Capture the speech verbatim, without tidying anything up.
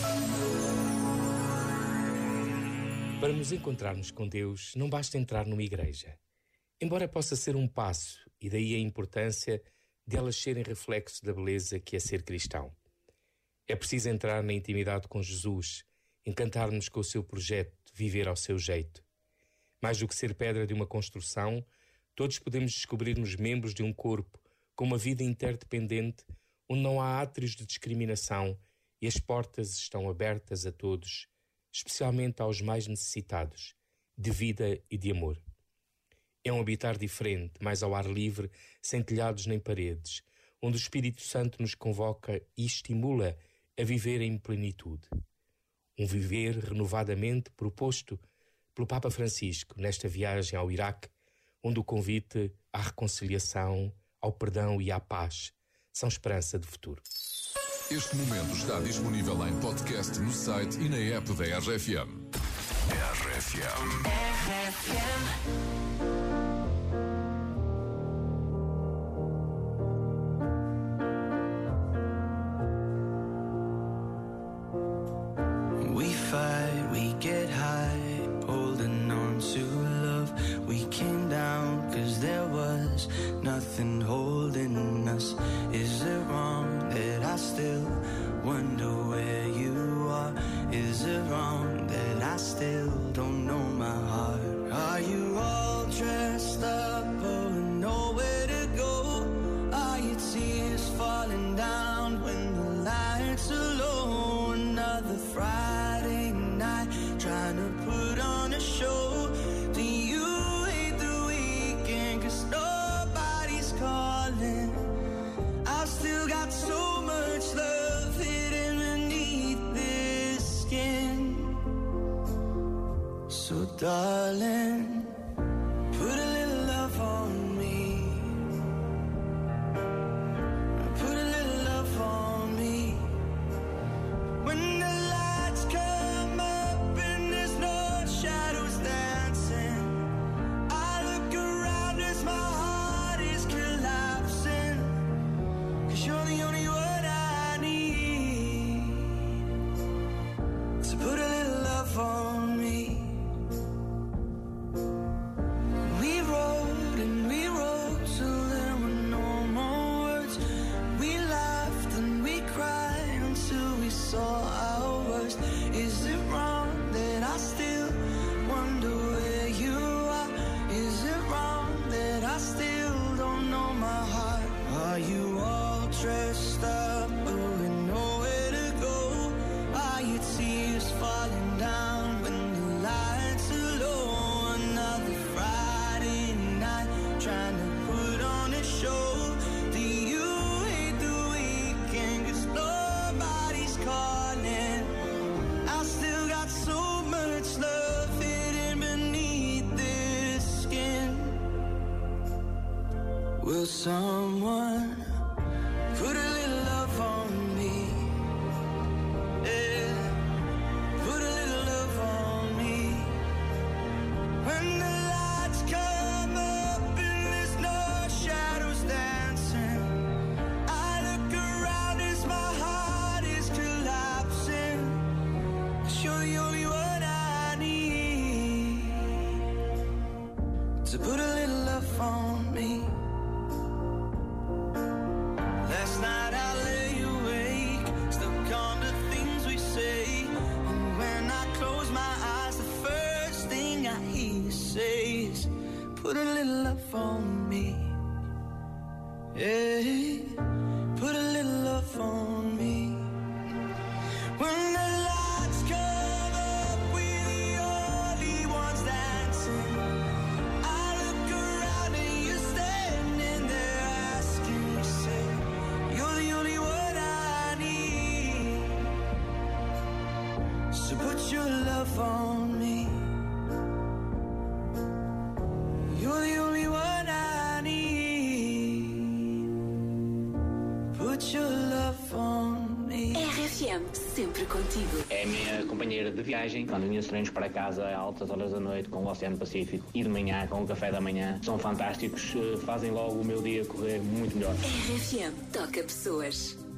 Para nos encontrarmos com Deus, não basta entrar numa igreja. Embora possa ser um passo, e daí a importância de elas serem reflexo da beleza que é ser cristão. É preciso entrar na intimidade com Jesus, encantar-nos com o seu projeto, viver ao seu jeito. Mais do que ser pedra de uma construção, todos podemos descobrir-nos membros de um corpo com uma vida interdependente, onde não há átrios de discriminação e as portas estão abertas a todos, especialmente aos mais necessitados, de vida e de amor. É um habitar diferente, mais ao ar livre, sem telhados nem paredes, onde o Espírito Santo nos convoca e estimula a viver em plenitude. Um viver renovadamente proposto pelo Papa Francisco nesta viagem ao Iraque, onde o convite à reconciliação, ao perdão e à paz são esperança de futuro. Este momento está disponível em podcast no site e na app da R F M. R F M. R F M. We fight, we get high, holding on to love. We came down 'cause there was nothing holding us. Is it wrong that I still wonder where you are? Is it wrong that I still don't know my heart? Are you all dressed up, oh, nowhere to go? Are your tears falling down when the lights are low? Another Friday night, trying to put on a show. Do you hate the weekend 'cause nobody's calling? I've still got so much love hidden beneath this skin. So darling, put a little love on me. Put a little love on me. When the lights come up and there's no shadows dancing, I look around as my heart is collapsing. 'Cause you're the only one I need. So put a little love on me. We rode and we rode till there were no more words. We laughed and we cried until we saw our worst. Is it wrong that I still wonder where you are? Is it wrong that I still don't know my heart? Are you all dressed up, but with nowhere to go? Are your tears falling down when the lights are low? Another Friday night, trying to put on a show. Do you hate the weekend 'cause nobody's calling? I still got so much love hidden beneath this skin. Will someone put a little love on me? Yeah, put a little love on me. When the lights come up and there's no shadows dancing, I look around as my heart is collapsing. 'Cause you're the only one I need. So put a little love on me. Last night I lay awake, stuck on the things we say. And when I close my eyes, the first thing I hear you say is, put a little love on me. Yeah, put a little love on me. When the lights come up, we're the only ones dancing. I look around and you're standing there asking yourself, you're the only one I need. So put your love on me. You're the only one I need. Put your love on me. R F M, sempre contigo. É a minha companheira de viagem, quando vinha os treinos para casa a altas horas da noite com o Oceano Pacífico e de manhã com o café da manhã. São fantásticos, fazem logo o meu dia correr muito melhor. R F M, toca pessoas.